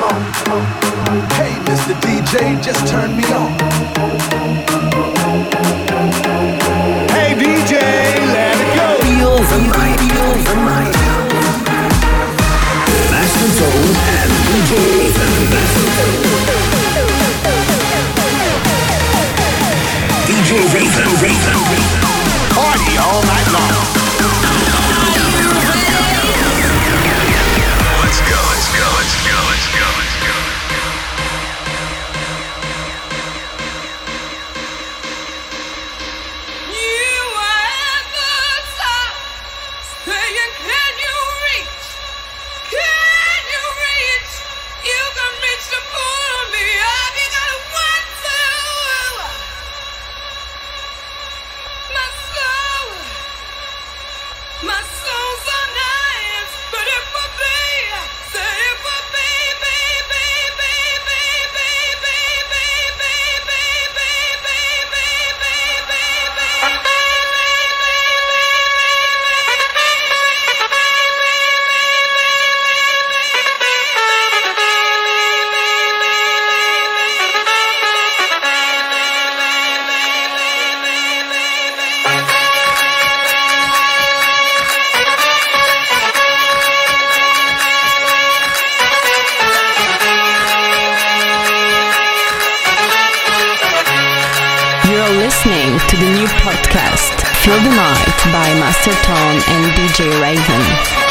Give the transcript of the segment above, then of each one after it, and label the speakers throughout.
Speaker 1: Hey, Mr. DJ, just turn me on. Hey, DJ, let it go.
Speaker 2: Feel the night, feel the night. Master Tone and DJ Raven.
Speaker 1: Party all night long.
Speaker 2: Let's go, let's go, let's go, let's go, let's go.
Speaker 3: You are at the top, saying, can you reach? Can you reach? You can reach to pull me up. You gotta want to. My soul's on knives, but it will be, say it will be, baby, baby, baby,
Speaker 4: Listening to the new podcast Feel the Night by Master Tone and DJ Raven.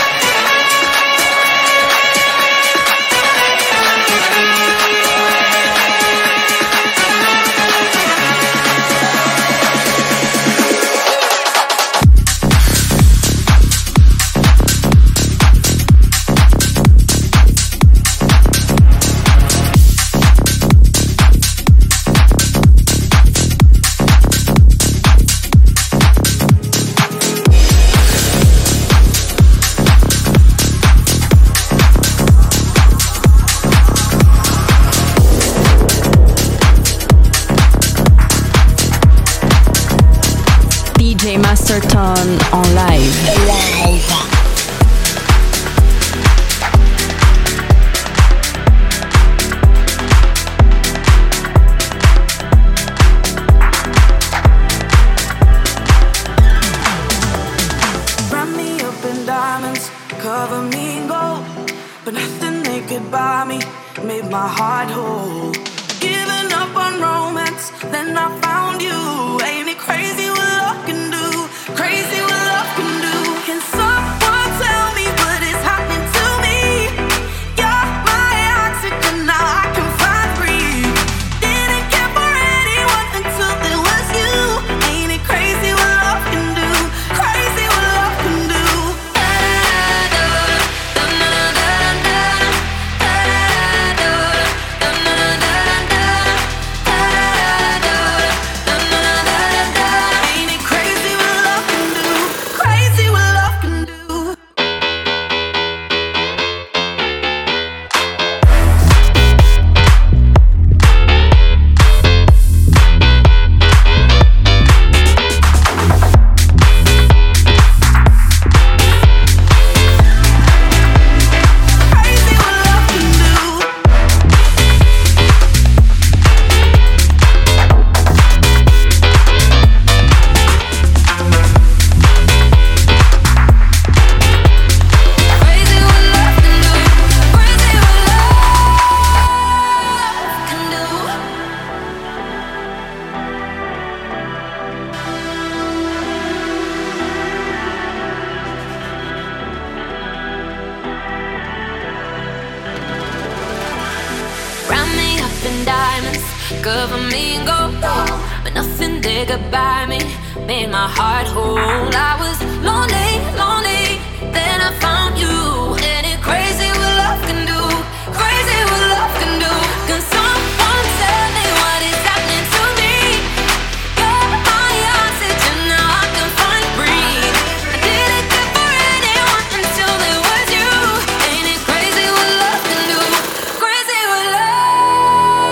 Speaker 4: DJ Master Tone en live.
Speaker 5: Wrap me up in diamonds, cover me in gold, but nothing they could buy me made my heart whole. Giving up on romance, then I found you. Ain't it crazy what love can do? Crazy what love can do. Can someone tell me what is happening to me? You're my oxygen, now I can find breathe. Didn't care for anyone until it was you. Ain't it crazy what love can do? Crazy what love can do. Ain't it crazy what love can do? Crazy what love can do. Crazy what love can do. Crazy what love can do. Crazy what love can do.
Speaker 3: Round me up in diamonds, cover me in gold, but nothing they could buy me made my heart whole. I was lonely, lonely, then I found you. And it crazy what love can do, crazy what love can do. Can someone tell me what is happening to me? You're my oxygen, now I can find breathe. I didn't care for anyone until it was you. Ain't it crazy what love can do? Crazy what love.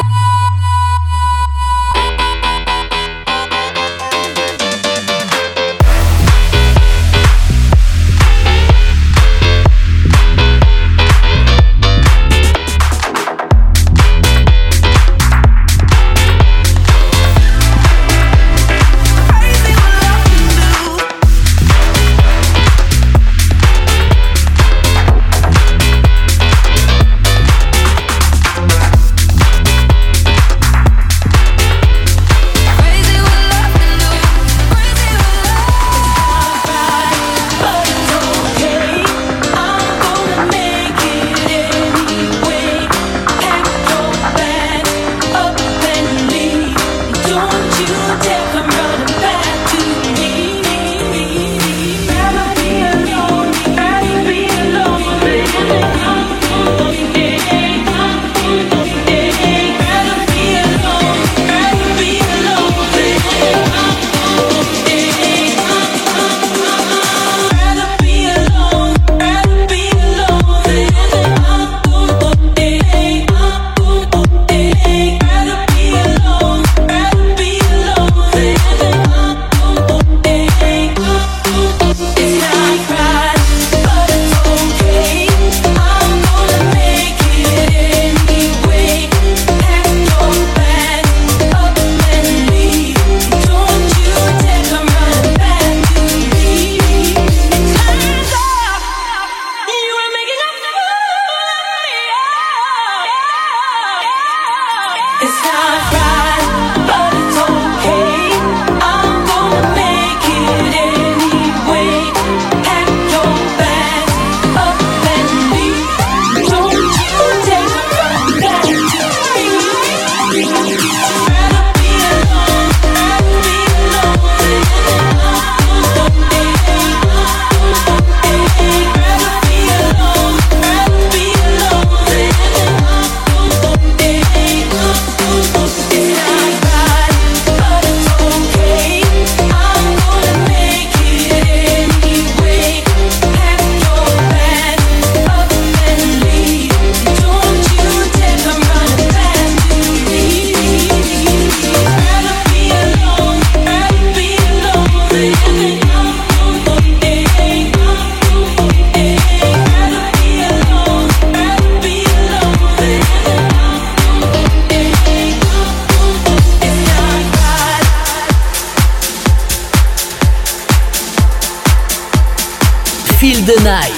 Speaker 6: Night.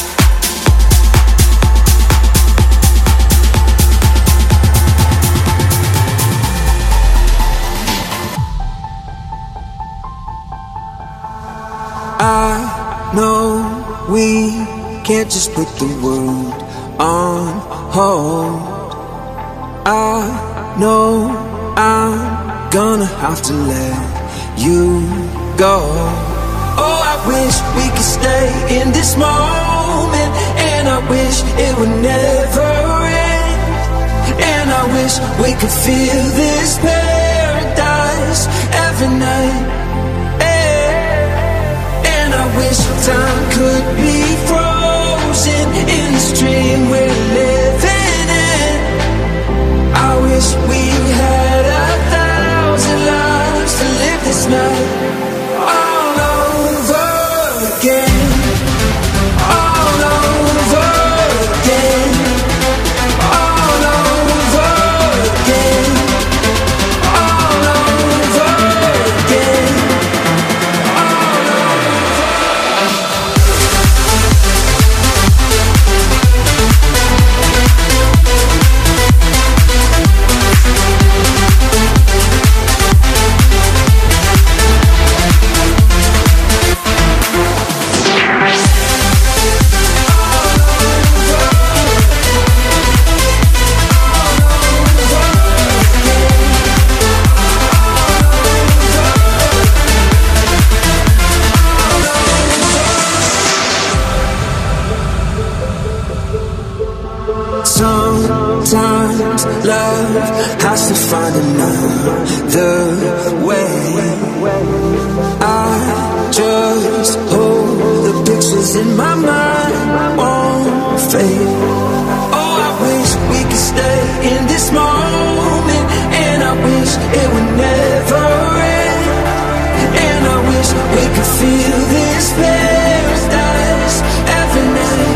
Speaker 7: I know we can't just put the world on hold. I know I'm gonna have to let you go. Oh, I wish we could stay in this moment, and I wish it would never end. And I wish we could feel this paradise every night. I wish time could be frozen in this dream we're living in. I wish we had 1,000 lives to live this night all over again, all over again, all over again, all over again. Sometimes love has to find another way. I just hope the pictures in my mind won't fade. Oh, I wish we could stay in this moment, and I wish it would never end. And I wish we could feel this paradise every night.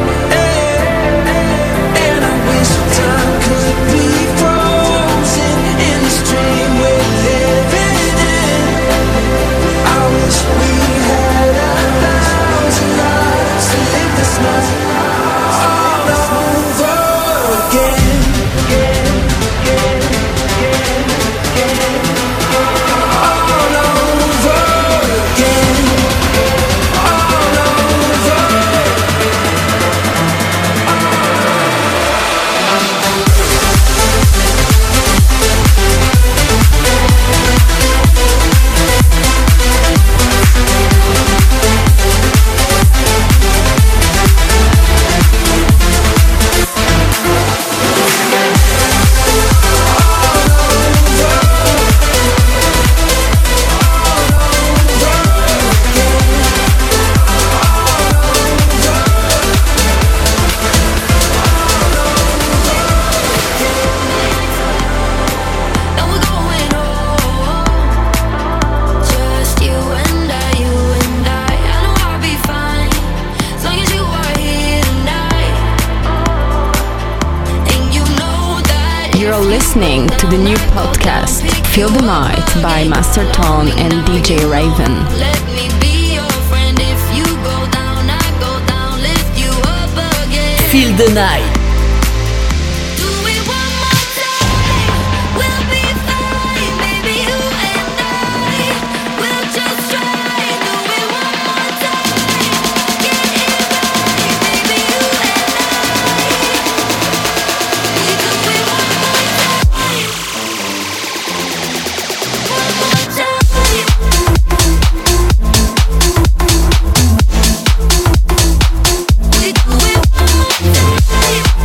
Speaker 7: Time could be frozen in this dream we're living in. I wish we had 1,000 lives to live this night all over again. All over again. All over.
Speaker 4: Listening to the new podcast Feel the Night by Master Tone and DJ Raven.
Speaker 3: Let me be your friend. If you go down, I go down, lift you up again.
Speaker 6: Feel the Night.
Speaker 3: Do it one more time. We'll be fine, baby. You and I will just try. Do it one more time. Get it right, baby. You and I. We do it one more time. One more time. We do it one more time.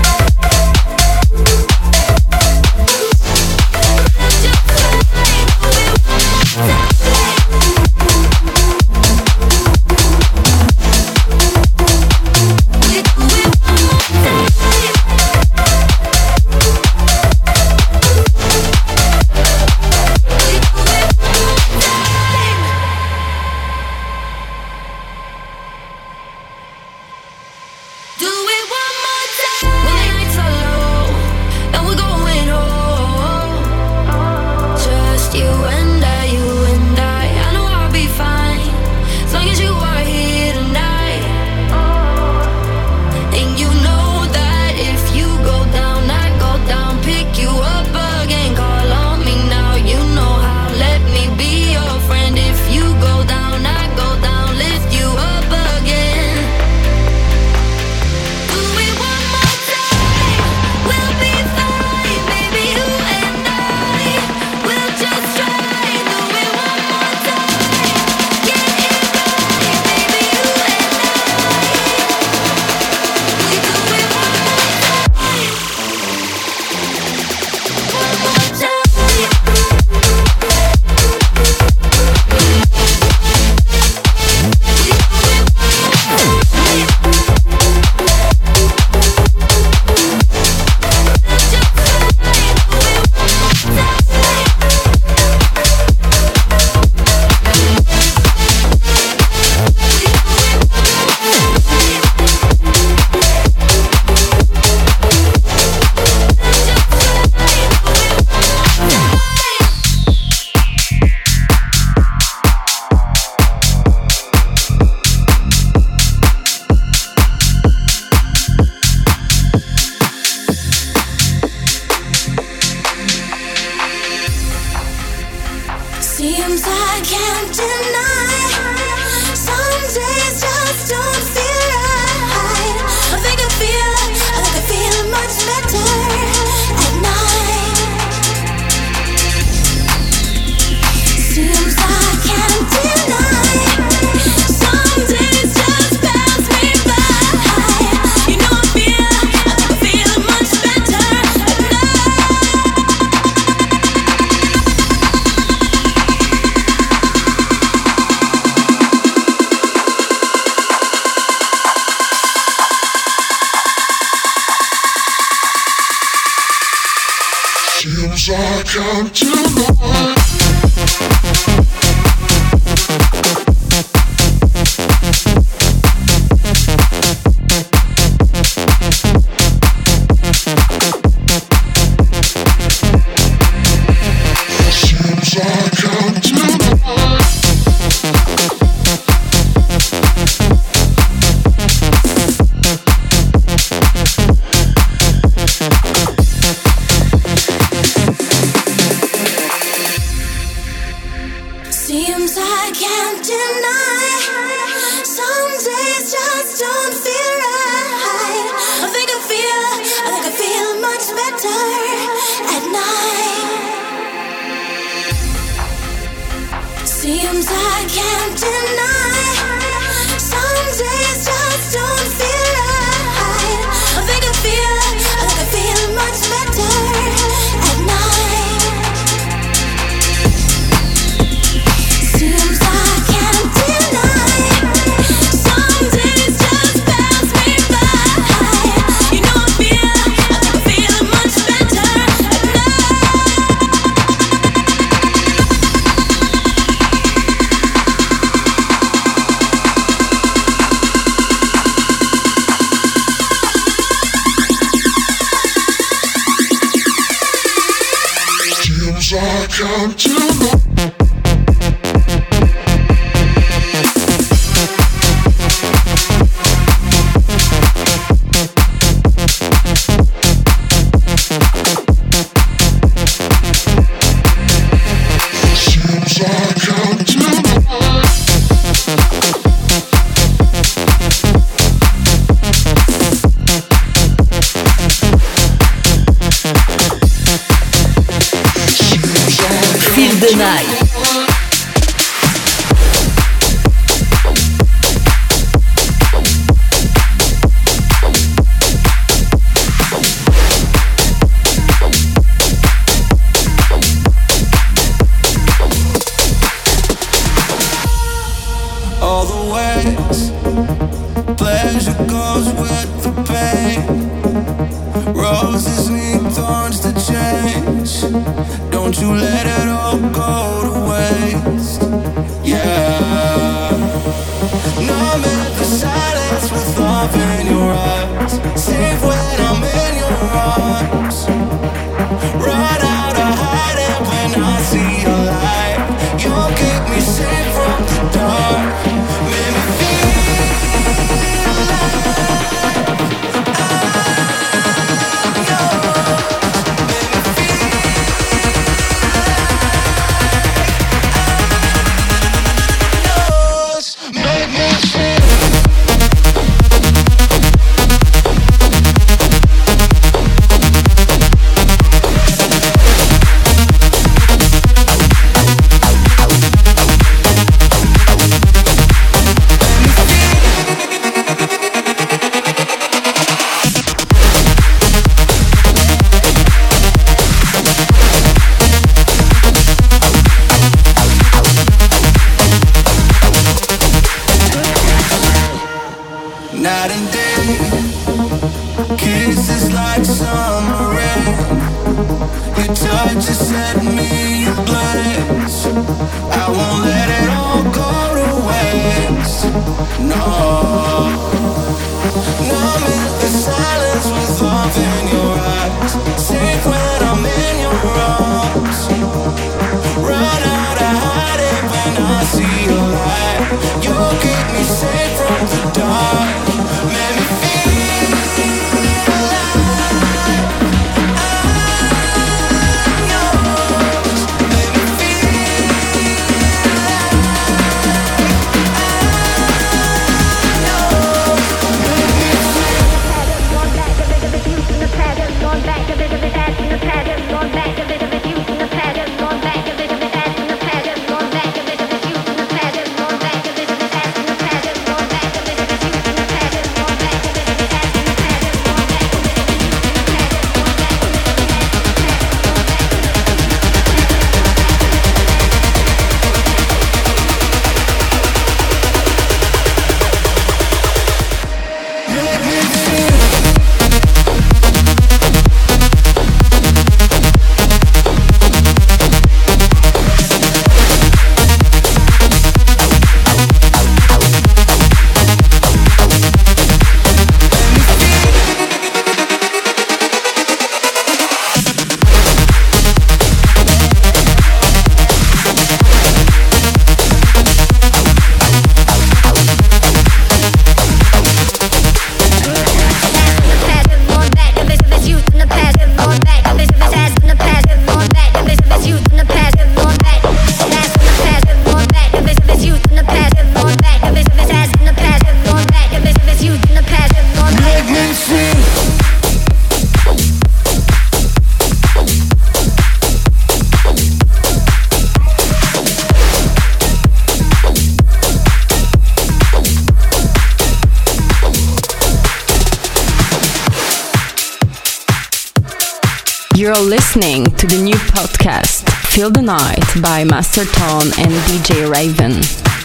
Speaker 4: You're listening to the new podcast, Feel the Night by Master Tone and DJ Raven.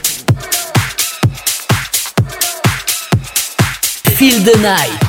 Speaker 6: Feel the Night.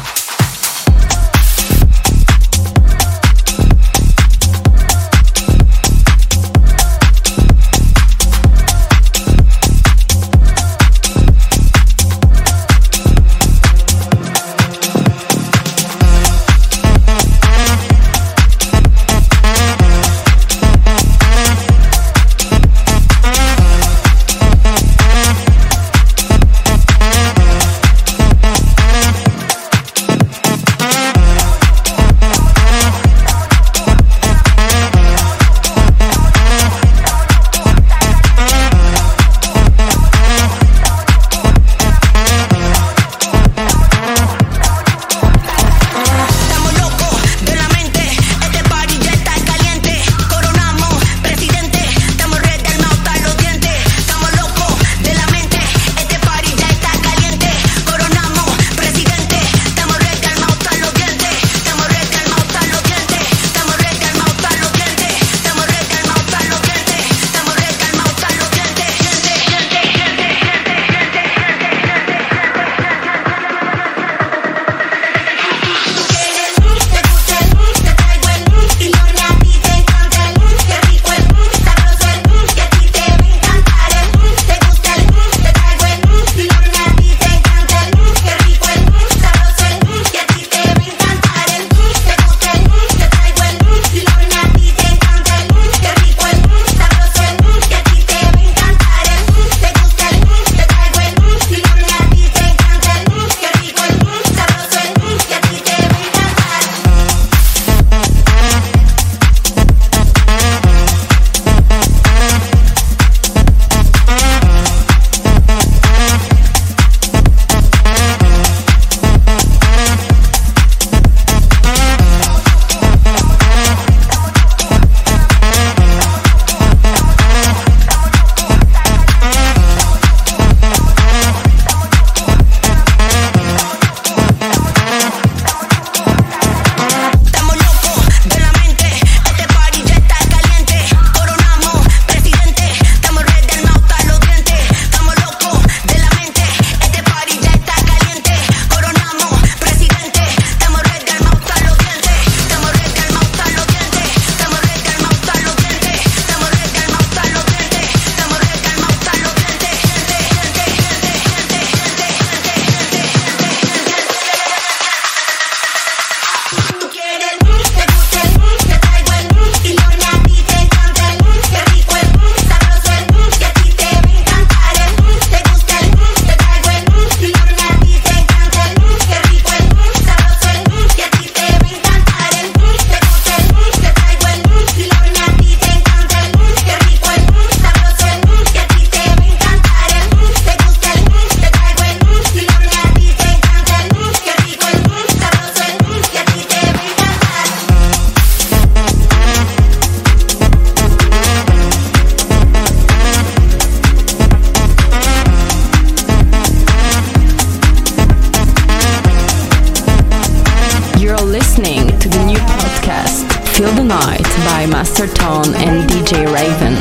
Speaker 4: Feel the Night by Master Tone and DJ Raven.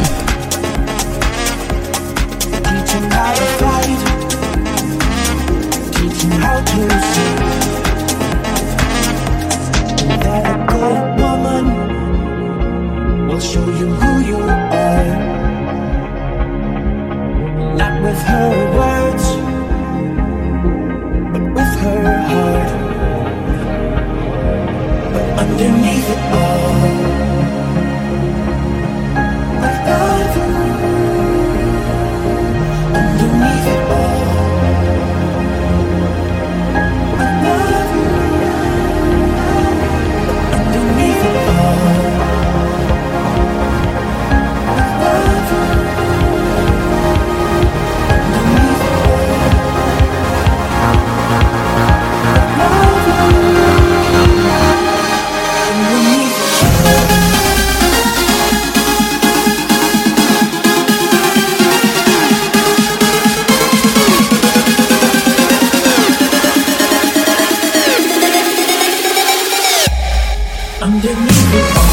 Speaker 7: Teaching how to fight, teaching how to see that a good woman will show you who you are. Not with her words, but with her heart. But underneath it all, I love you. Underneath it all, I love you. Underneath it all, I love you. Underneath it all, I love you. Underneath it all. underneath it all.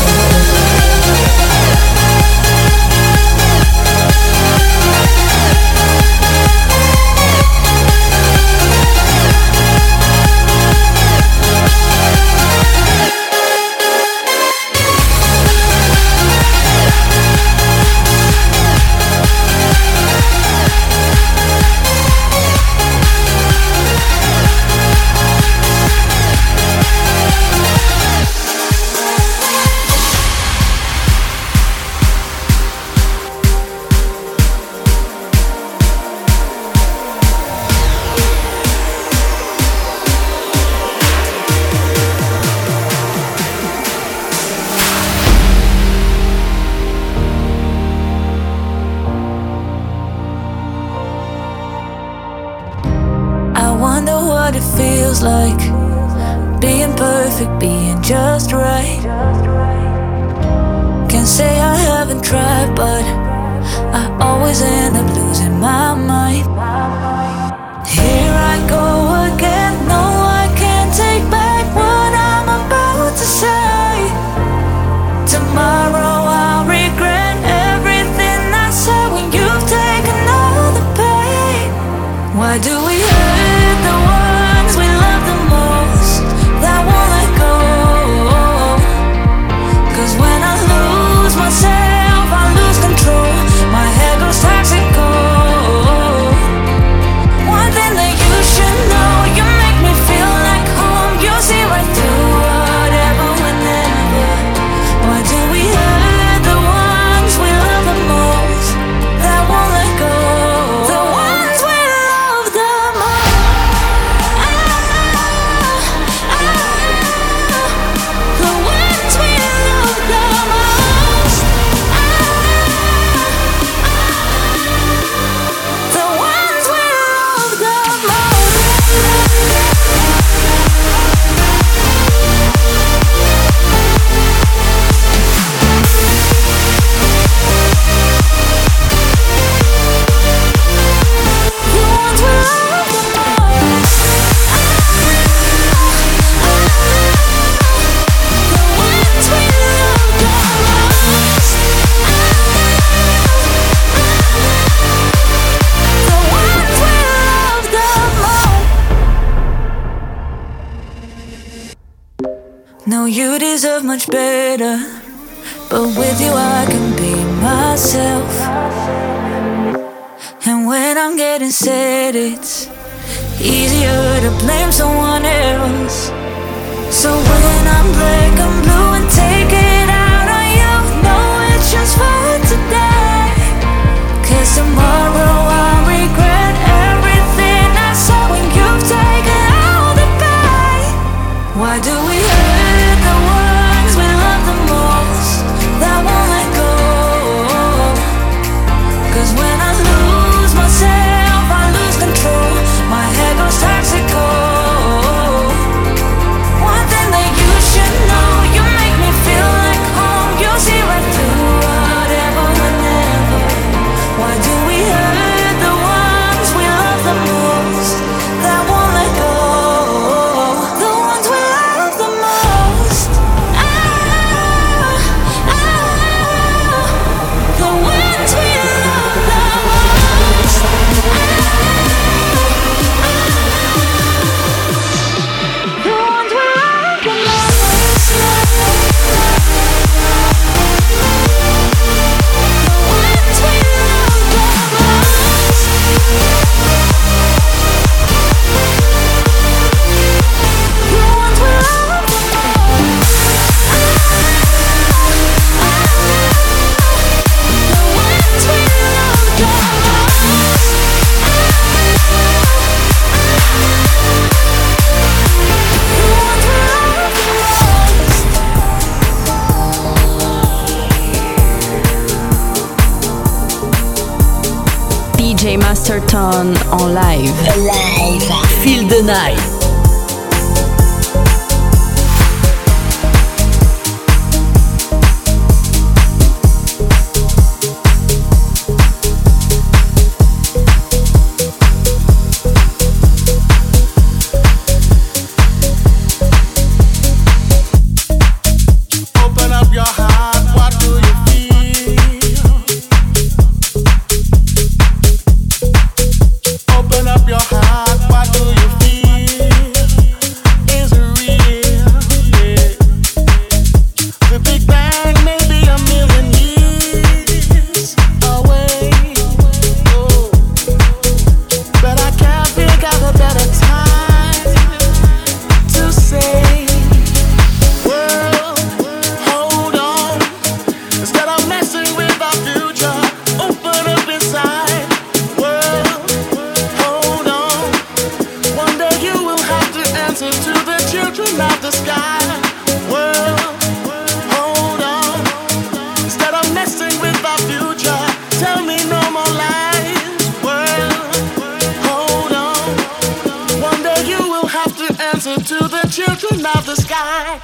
Speaker 5: Like being perfect, being just right. Can't say I haven't tried, but I always end up losing my mind. Here I go again. No, I can't take back what I'm about to say. Tomorrow I'll regret everything I said when you've taken all the pain. Why do we hurt the ones we love the most that won't let go? 'Cause when I lose myself, I lose control. My head goes toxic cold. One thing that you should know, you make me feel like home. You see right through whatever, whenever. Why do we hurt the ones we love the most that won't let go? The ones we love the most. The ones we love the most. The ones we love the most. The ones we love the most. The ones we love the most. The ones we love the most. No, you deserve much better, but with you I can be myself. And when I'm getting sad, it's easier to blame someone else. So when I'm black and blue and take it out on you, no, it's just for today. 'Cause tomorrow I'll regret everything I saw when you've taken all the pain. Why do we hurt the ones we love the most that won't let go? 'Cause when I lose myself, I lose control. My head goes toxic cold. One thing that you should know, you make me feel like home. You see right through whatever, whenever. Why do we hurt the ones we love the most that won't let go? The ones we love the most. The ones we love the most. The ones we love the most. The ones we love the most. The ones we love the most. The ones we love the most. The ones we love the most.
Speaker 4: DJ Masterton en live.
Speaker 6: Feel the night.
Speaker 8: answer to the children of the sky. World, hold on. Instead of messing with our future, tell me no more lies. World, hold on. One day you will have to answer to the children of the sky.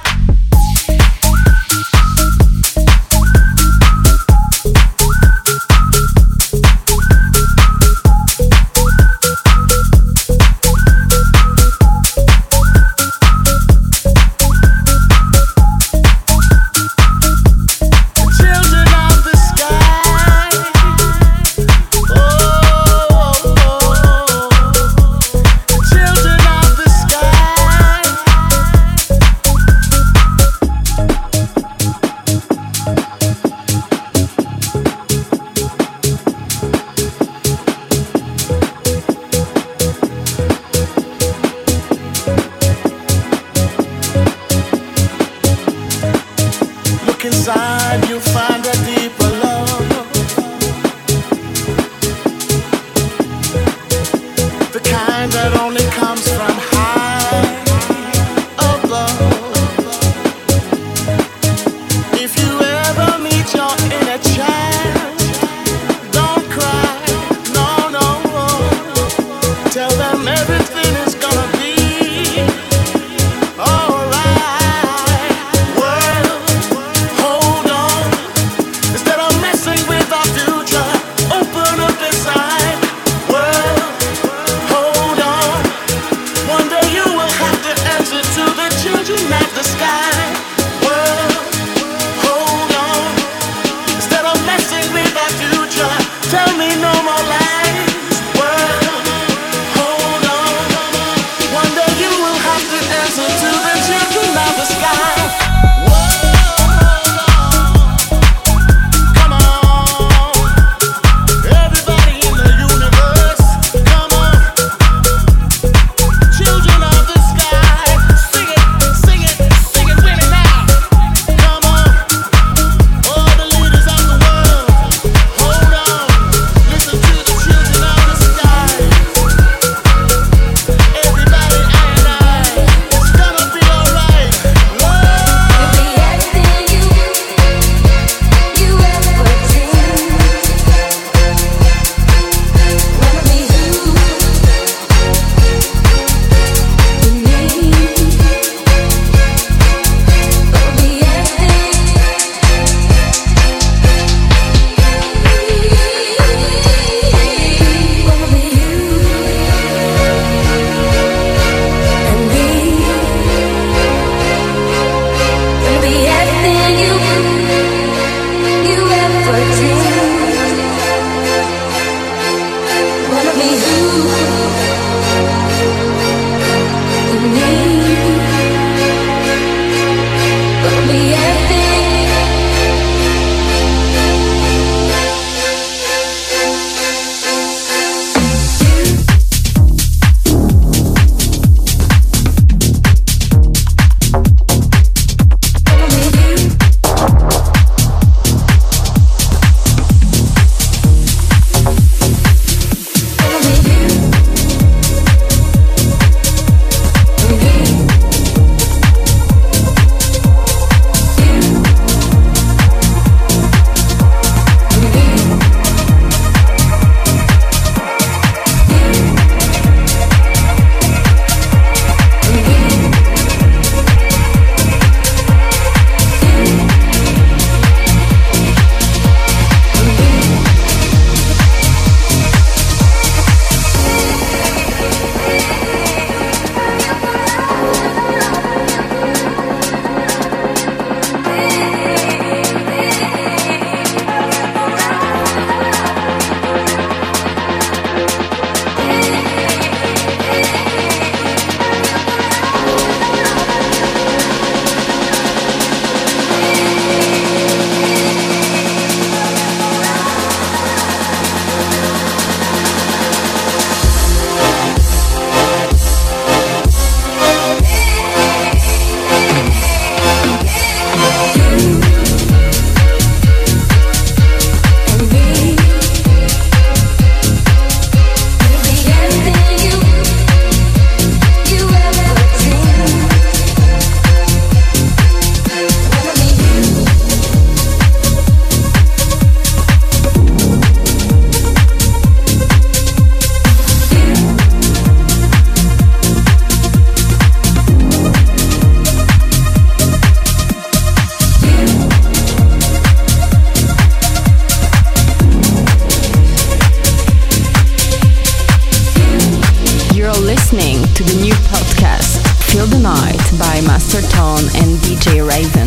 Speaker 4: Night by Master Tone and DJ Raven.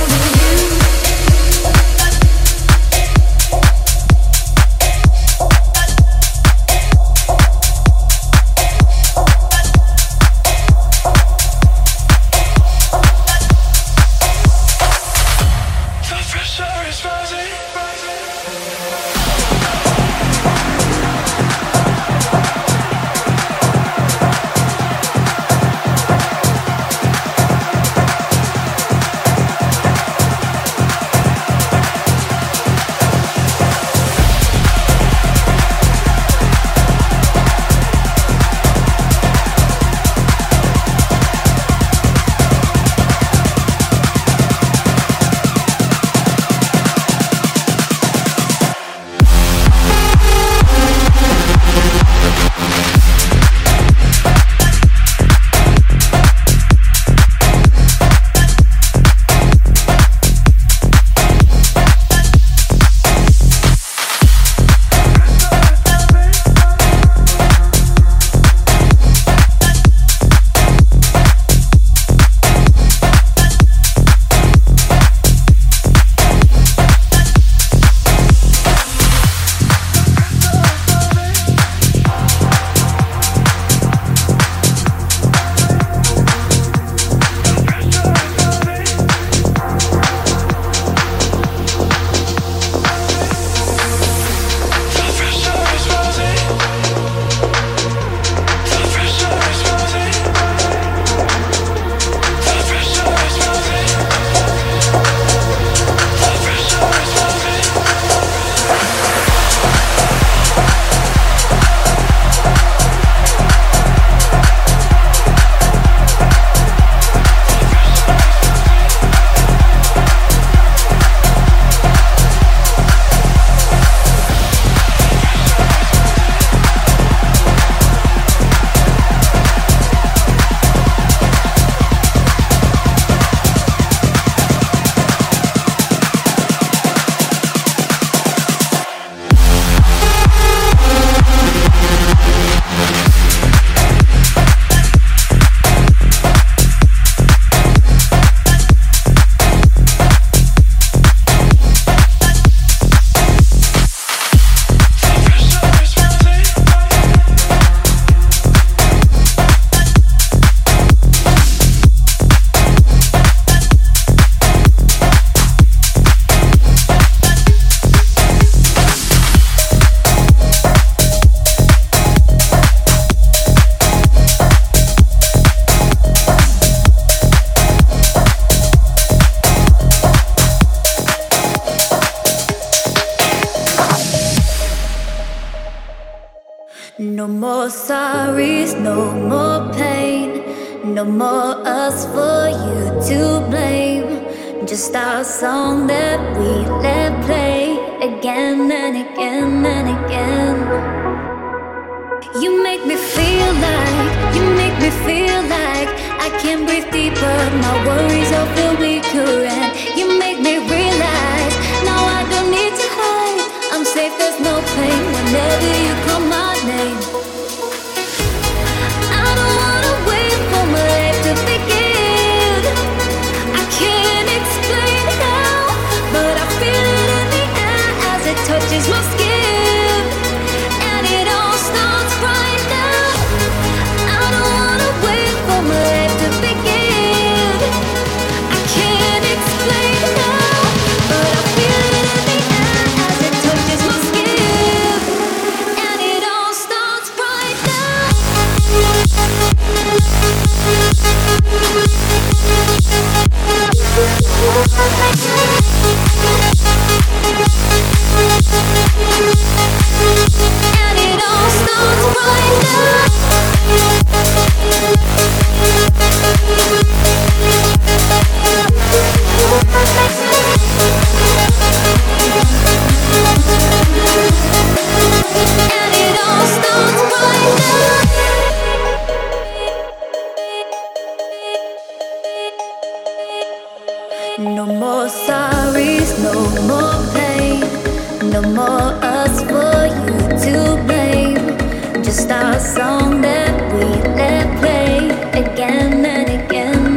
Speaker 9: No more sorries, no more pain, no more us for you to blame. Just our song that we let play again and again and again. You make me feel like I can breathe deeper. My worries all feel weaker, and you make me realize now I don't need to hide. I'm safe, there's no pain whenever you call my name. I don't wanna wait for my life to begin. I can't explain how, but I feel it in the air as it touches my skin, and it all starts right now. I don't wanna wait for my life to begin. I can't explain how, but I feel it in the air as it touches my skin, and it all starts right now. And it all starts right now. And it all starts right now. No more sorries, no more pain, no more us for you to blame. Just our song that we let play again and again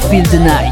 Speaker 6: Feel the Night.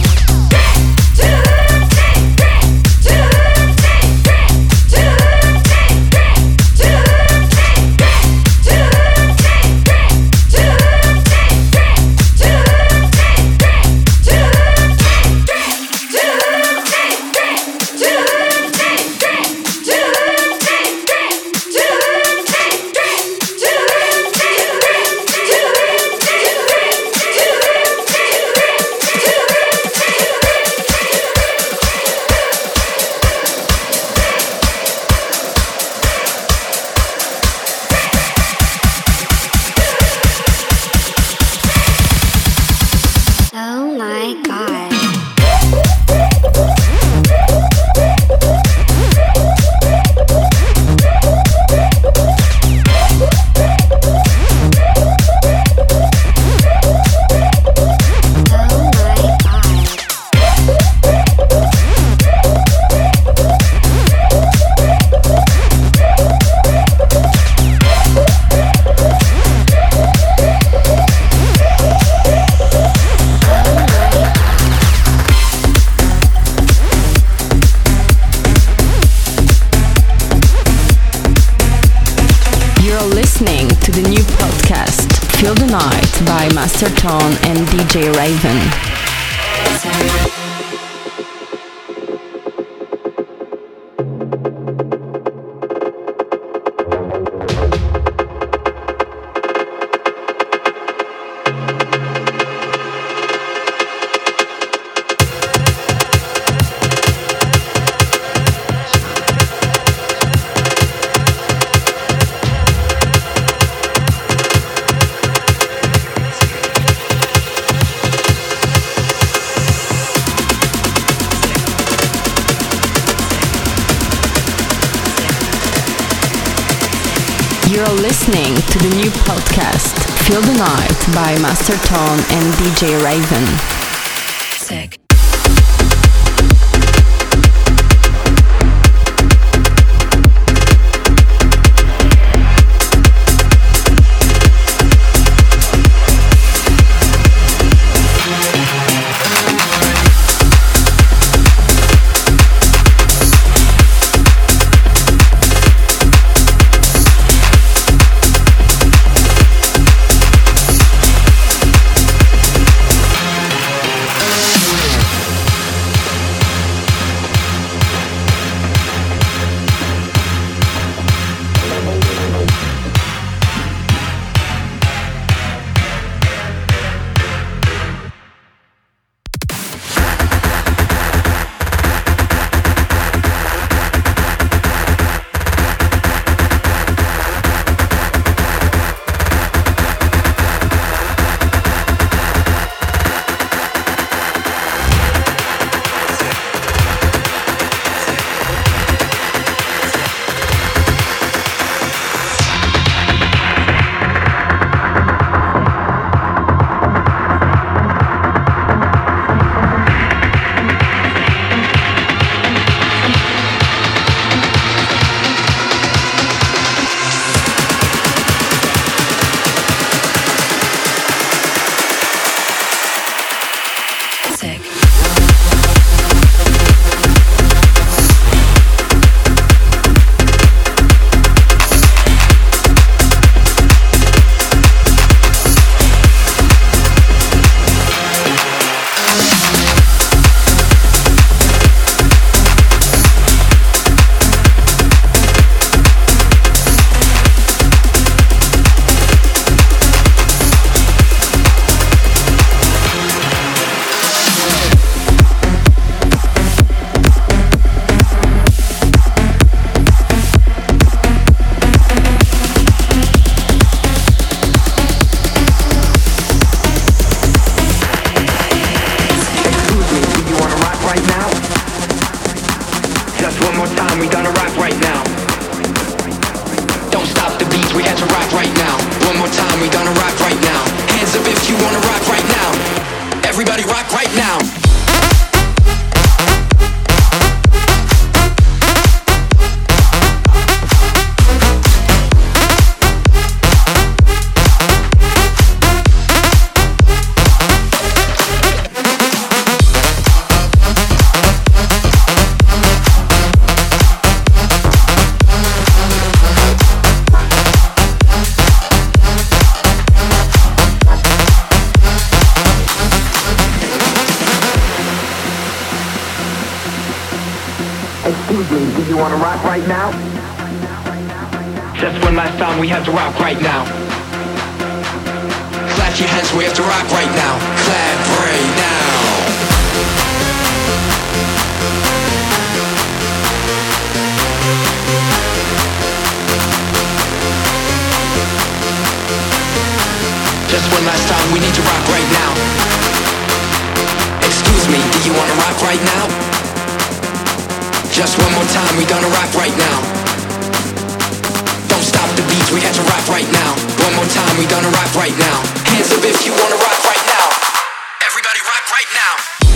Speaker 4: Feel the Night by Master Tone and DJ Raven. You're listening to the new podcast, Feel the Night by Master Tone and DJ Raven. Sick.
Speaker 10: Do you wanna rock right now? Just one last time, we have to rock right now.
Speaker 2: Clap your hands, we have to rock right now. Clap right now. Just one last time, we need to rock right now. Excuse me, do you wanna rock right now? Just one more time, we gonna rock right now. Don't stop the beats, we have to rock right now. One more time, we gonna rock right now. Hands up if you wanna rock right now. Everybody rock right now.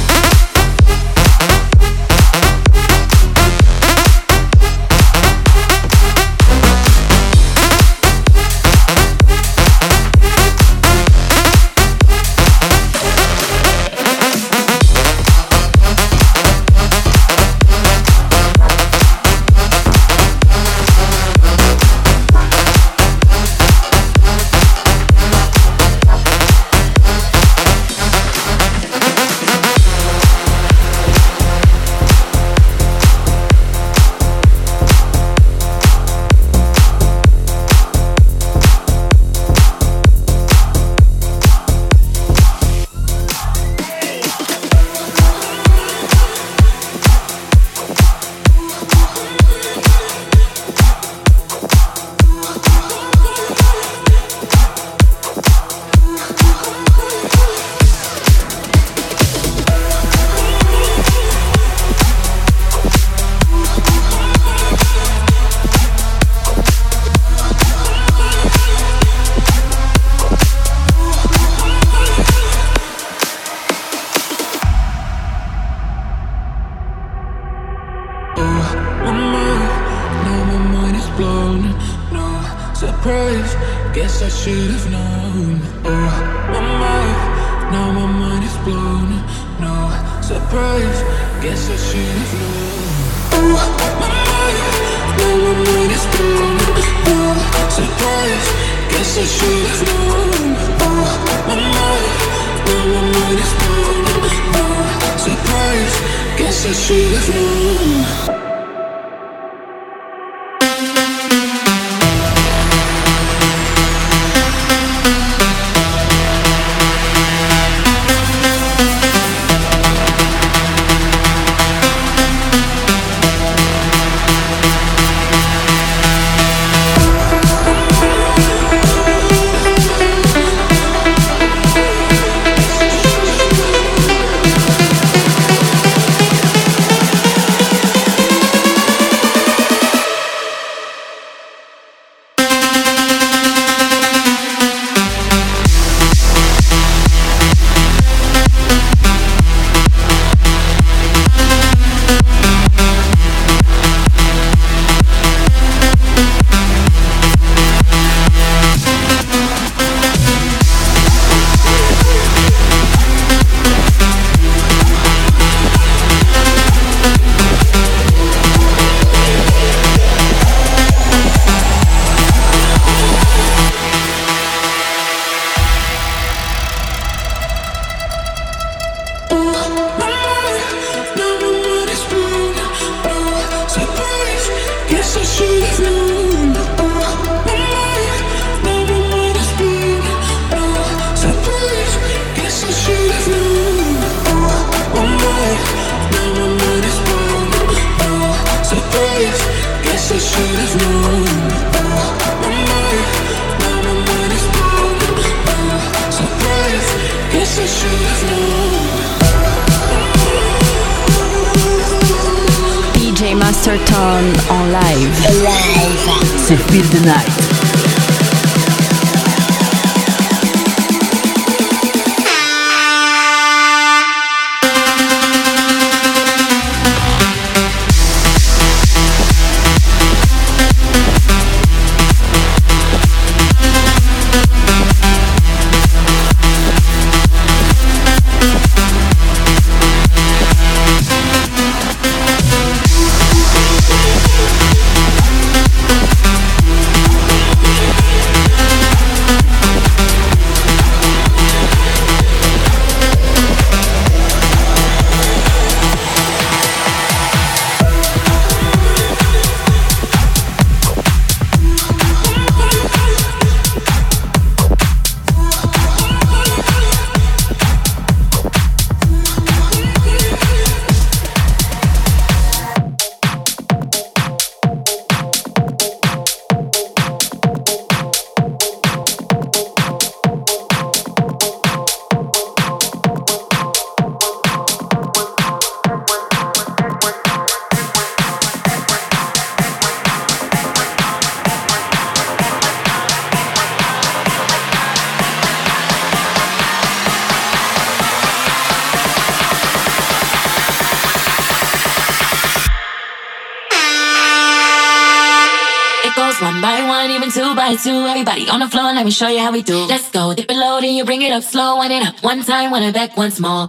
Speaker 7: Guess I should have known. Oh, my mind, now my mind is blown. No surprise, guess I should have known. Oh, my mind, now my mind is blown. No surprise, guess I should have known. Oh, my mind, now my mind is blown. No surprise, guess I should have known.
Speaker 4: DJ Master Tone en live.
Speaker 6: C'est Feel the Night.
Speaker 3: goes one by one, even two by two. Everybody on the floor, let me show you how we do. Let's go, dip it low, then you bring it up slow. Wind it up one time, wind it back once more.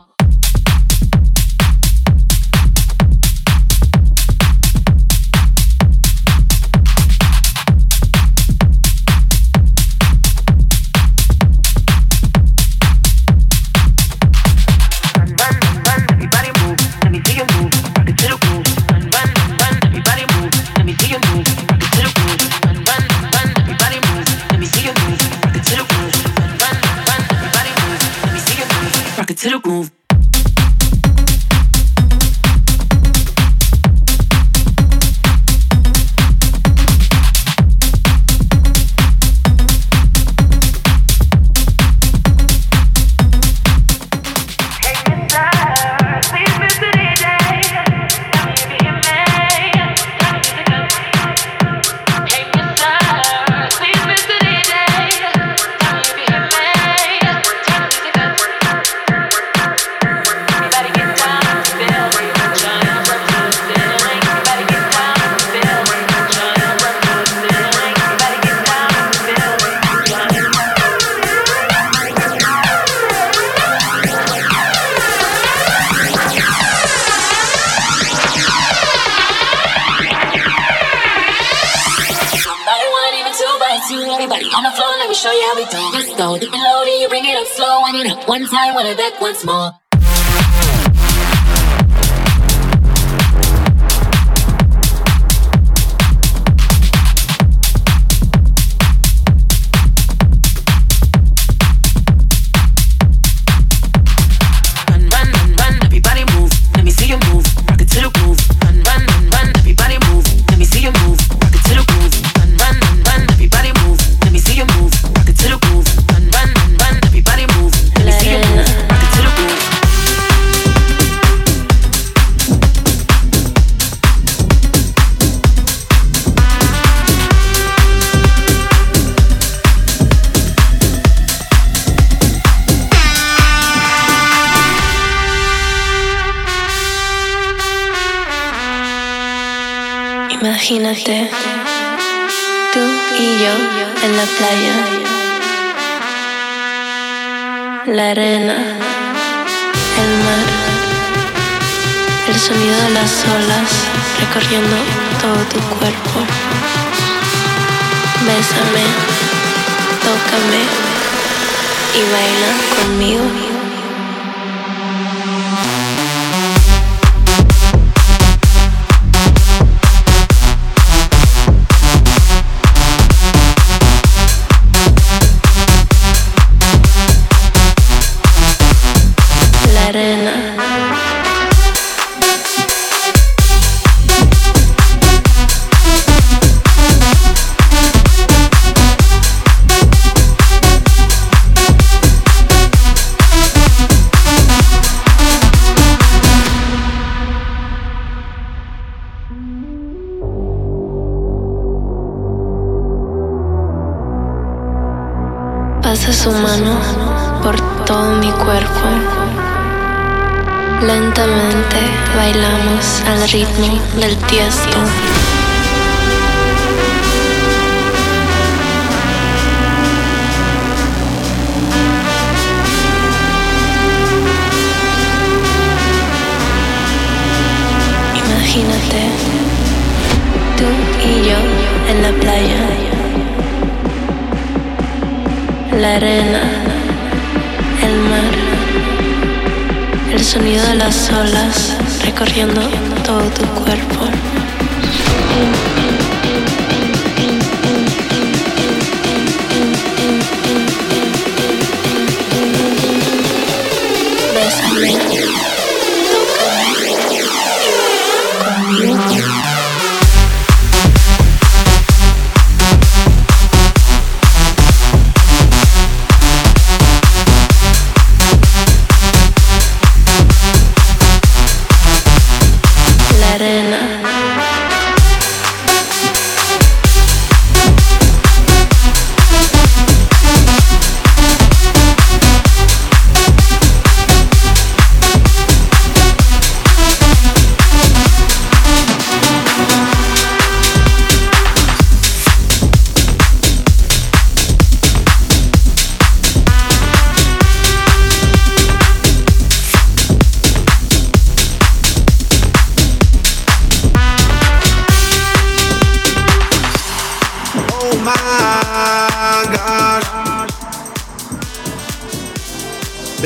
Speaker 2: To the groove.
Speaker 3: Show you how we do. Let's go, dip it low, then you bring it up slow. Wind it up one time, wind it back once more.
Speaker 11: Imagínate, tú y yo en la playa, la arena, el mar, el sonido de las olas recorriendo todo tu cuerpo. Bésame, tócame y baila conmigo. Pasa su mano por todo mi cuerpo. Lentamente bailamos al ritmo del Tiesto. Imagínate, tú y yo en la playa, la arena, el mar, el sonido de las olas recorriendo todo tu cuerpo. Bésame, tócame y baila conmigo.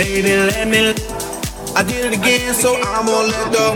Speaker 8: Baby, let me. I did it again, so I'm gonna let go.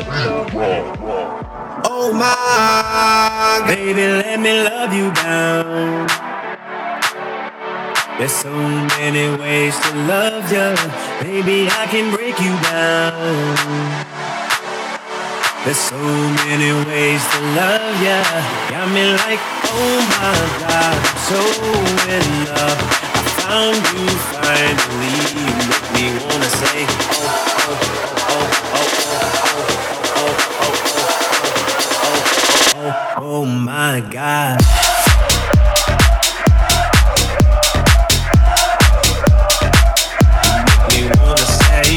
Speaker 8: Oh my, baby, let me love you down. There's so many ways to love you. Baby, I can break you down. There's so many ways to love ya. Got me like, oh my God, I'm so in love. I found you finally. You make me wanna say, oh, oh, oh, oh, oh, oh, oh, oh, oh, oh my God. You make me wanna say,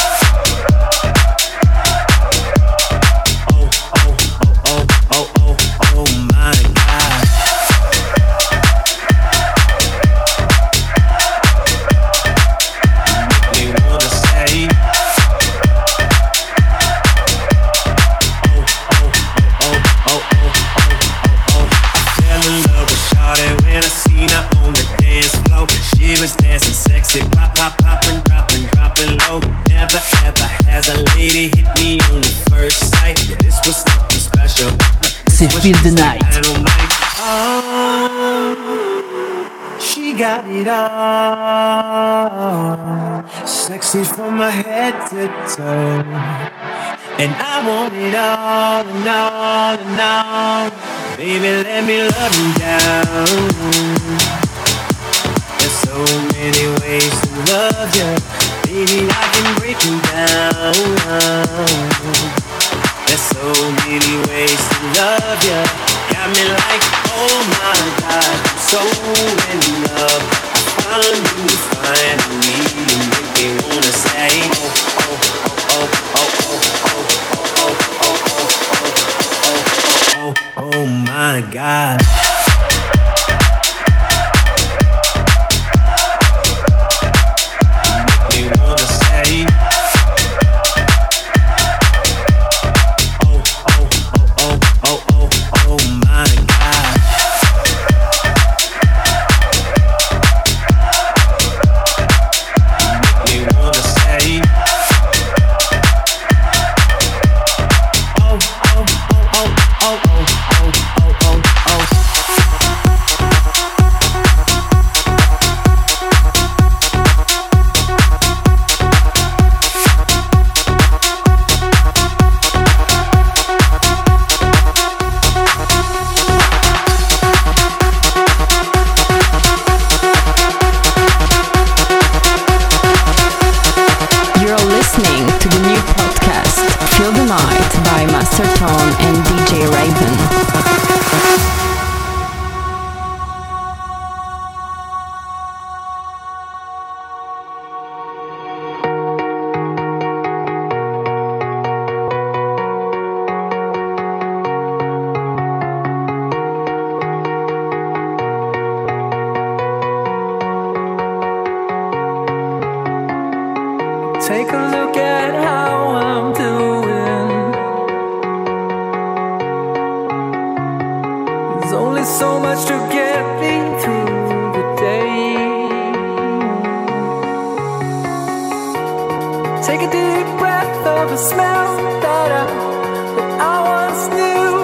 Speaker 6: c'est Feel the Night.
Speaker 8: Oh, she got it all, sexy from my head to toe, and I want it all and all and all. Baby, let me love you down. There's so many ways to love you. Baby, I can break you down. There's so many ways to love you. Got me like, oh my God, I'm so in love. I found you finally. You make me wanna say, oh, oh, oh, oh, oh, oh, oh, oh, oh my God. You make me wanna say,
Speaker 7: take a look at how I'm doing. There's only so much to get me through the day. Take a deep breath of a smell that I once knew.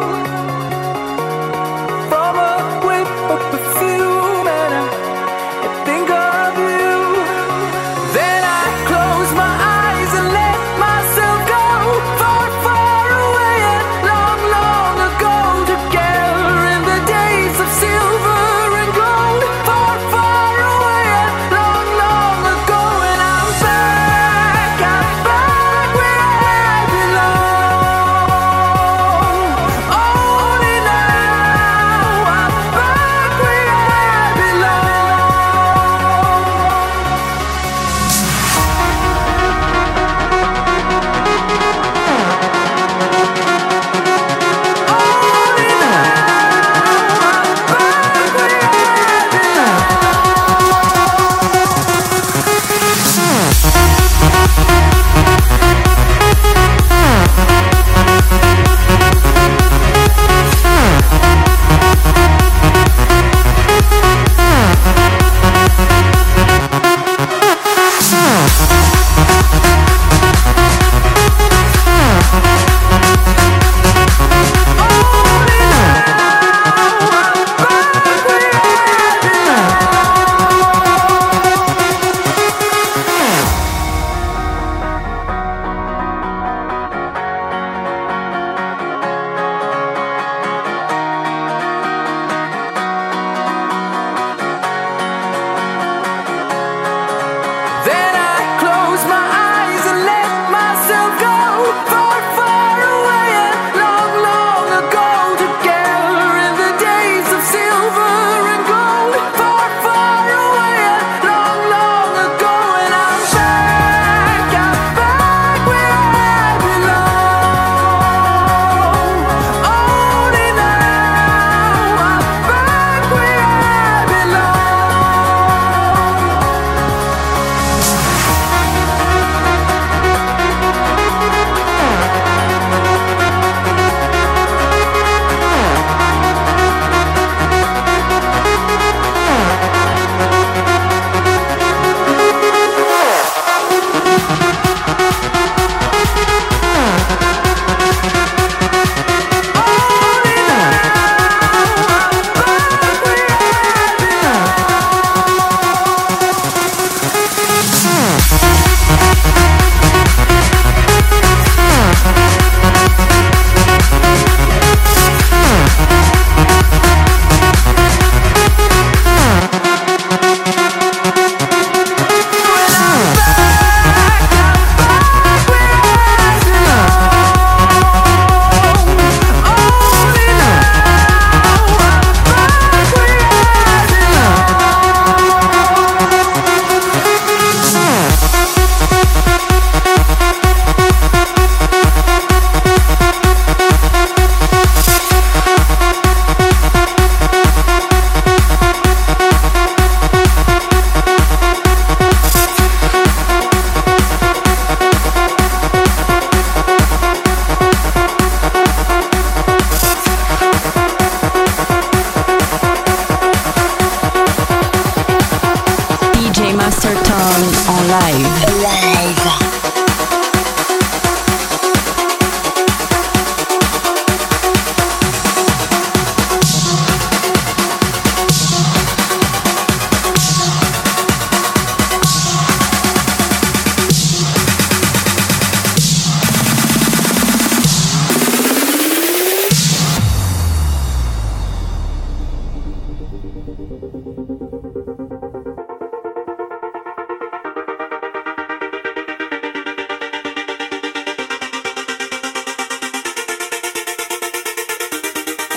Speaker 7: From a whiff of perfume, and I think of you. Then I close my eyes and let myself go far, far away and long, long ago. Together in the days of silver and gold. Far, far away and long, long ago. And I'm back where I belong.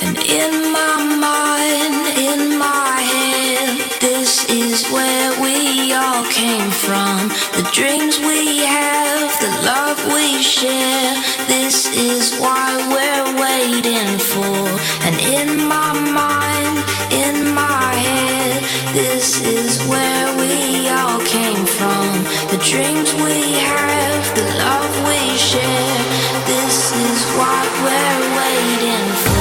Speaker 5: And in my mind, in my head, this is where we all came from. The dreams we have, the love we share, this is why we're waiting for. And in my mind, in my head, this is where we all came from. The dreams we have, the love we share, this is what we're waiting for.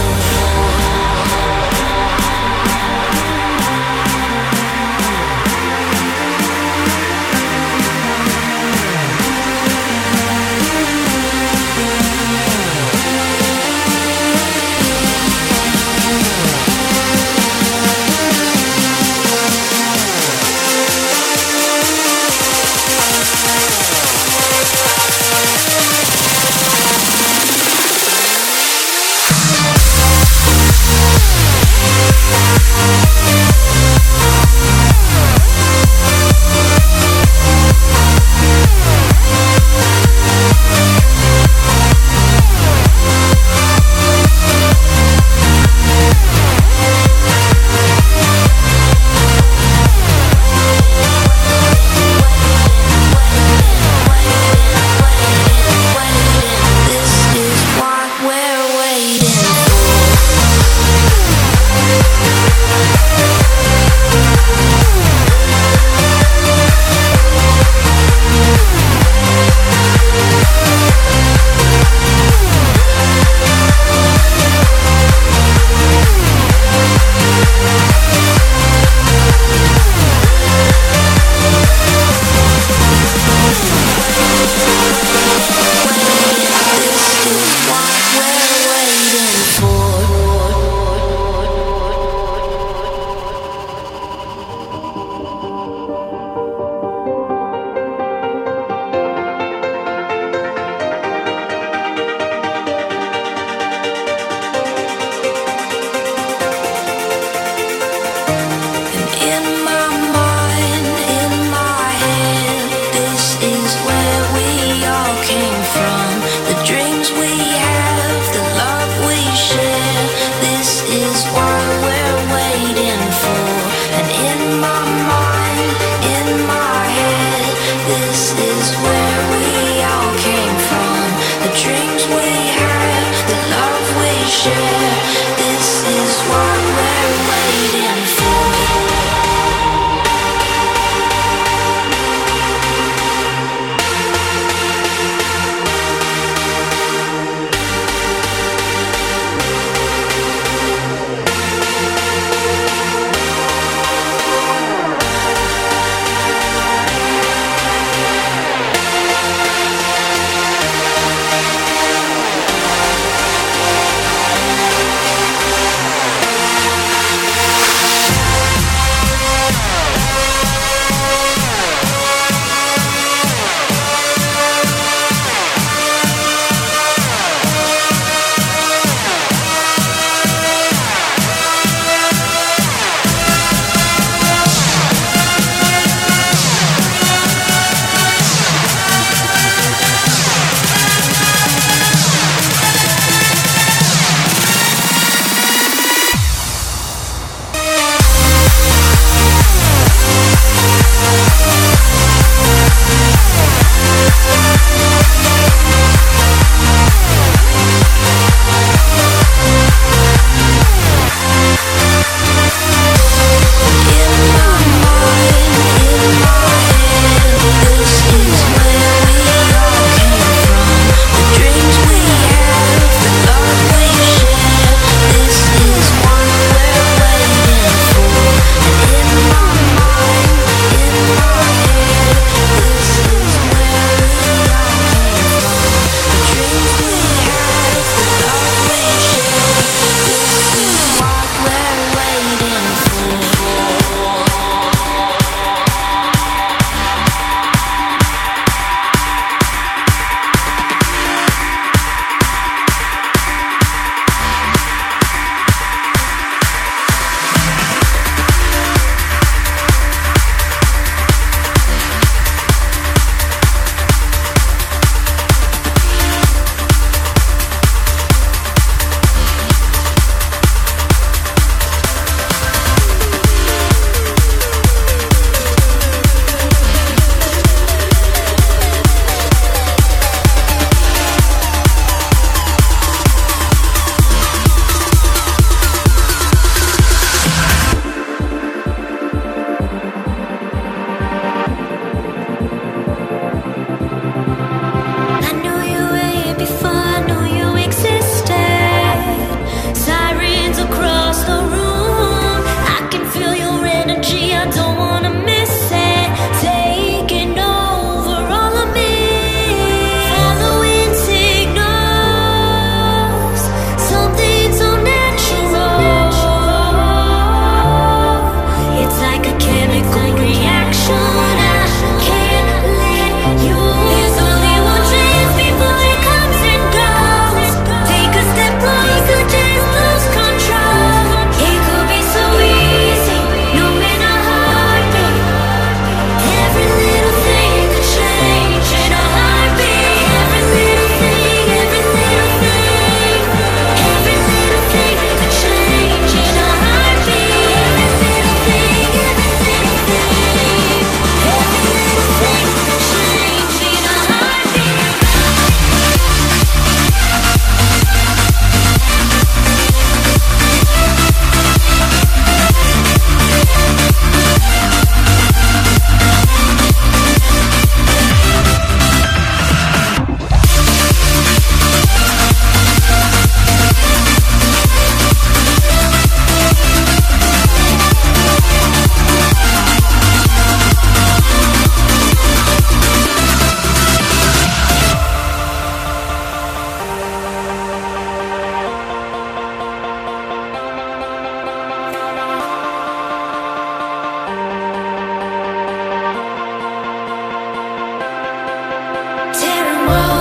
Speaker 9: world.